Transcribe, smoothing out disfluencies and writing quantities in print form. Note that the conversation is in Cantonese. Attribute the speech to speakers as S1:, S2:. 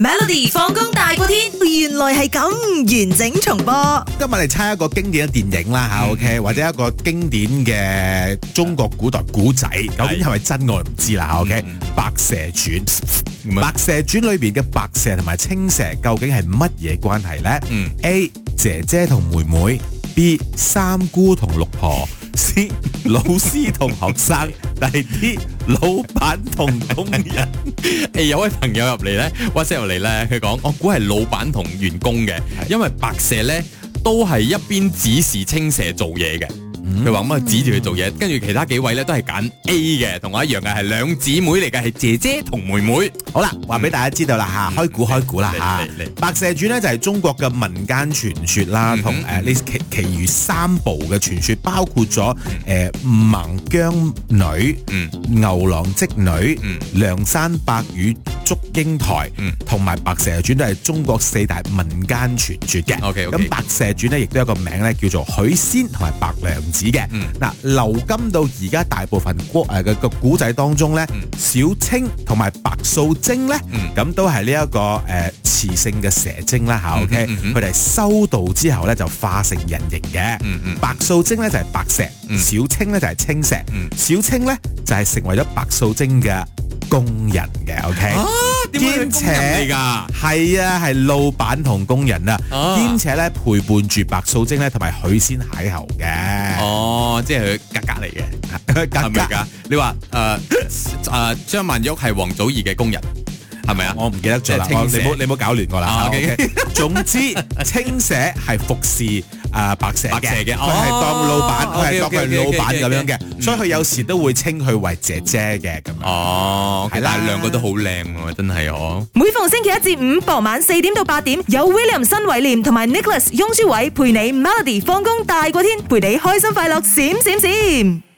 S1: Melody 放工大過天，原來係咁完整重播。
S2: 今日嚟猜一個經典嘅電影啦吓，OK，或者一個經典嘅中國古代古仔，究竟係咪真我唔知啦吓，OK。白蛇傳，白蛇傳裏邊嘅白蛇同埋青蛇究竟係乜嘢關係呢？A 姐姐同妹妹，B 三姑同六婆，C 老師同學生，第 D 老闆同工人。
S3: 有位朋友入嚟咧，WhatsApp 入嚟咧，佢講我估係老闆同員工嘅，因為白蛇咧都係一邊指示青蛇做嘢嘅。佢話咁啊，指住佢做嘢，跟住其他幾位咧都係揀 A 嘅，同我一樣嘅，係兩姊妹嚟嘅，係姐姐同妹妹。
S2: 好啦，話俾大家知道啦吓，開估啦吓。白蛇傳呢就係中國嘅民間傳說啦，同呢其餘三部嘅傳說，包括咗孟姜女、牛郎織女、梁山伯與祝英台，同埋白蛇傳都係中國四大民間傳說嘅。咁白蛇傳呢亦都有一個名咧，叫做許仙同埋白娘子嘅。嗱，流金到而家大部分嘅古仔當中咧，小青同埋白素貞咧，咁都係呢一個雌性嘅蛇精啦吓，OK，佢哋修道之後咧就化成人形嘅。白素貞咧就係白蛇，小青咧就係青蛇，小青咧就係成為咗白素貞嘅工人嘅，OK。兼且係啊，係老闆同工人啊，兼且咧陪伴住白素貞咧，同埋許仙邂逅嘅。
S3: 哦，即係佢格嚟嘅，係咪㗎？你話張曼玉係王祖兒嘅工人，係咪啊？
S2: 我唔記得咗啦，你唔好搞亂我啦。總之，青蛇係服侍白蛇嘅，佢係當老闆，佢係當佢老闆咁樣嘅，所以佢有時都會稱佢為姐姐嘅咁樣。
S3: 哦，但係兩個都好靚喎，真係哦。
S1: 每逢星期一至五傍晚4點到8點，有 William 新偉廉同埋 Nicholas 雍舒偉陪你 Melody 放工大過天，陪你開心快樂閃閃閃。